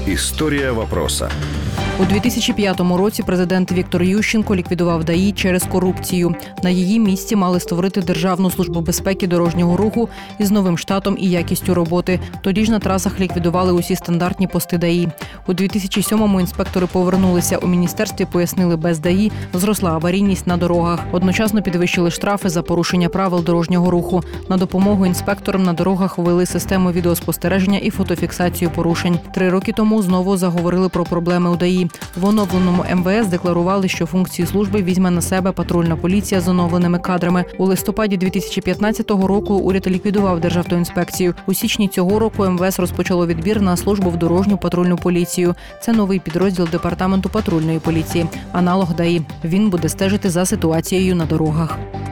История вопроса. У 2005 році президент Віктор Ющенко ліквідував ДАІ через корупцію. На її місці мали створити Державну службу безпеки дорожнього руху із новим штатом і якістю роботи. Тоді ж на трасах ліквідували усі стандартні пости ДАІ. У 2007-му інспектори повернулися. У міністерстві пояснили, без ДАІ зросла аварійність на дорогах. Одночасно підвищили штрафи за порушення правил дорожнього руху. На допомогу інспекторам на дорогах ввели систему відеоспостереження і фотофіксацію порушень. 3 роки тому знову заговорили про проблеми у ДАІ. В оновленому МВС декларували, що функції служби візьме на себе патрульна поліція з оновленими кадрами. У листопаді 2015 року уряд ліквідував Державтоінспекцію. У січні цього року МВС розпочало відбір на службу в дорожню патрульну поліцію. Це новий підрозділ Департаменту патрульної поліції, аналог ДАІ. Він буде стежити за ситуацією на дорогах.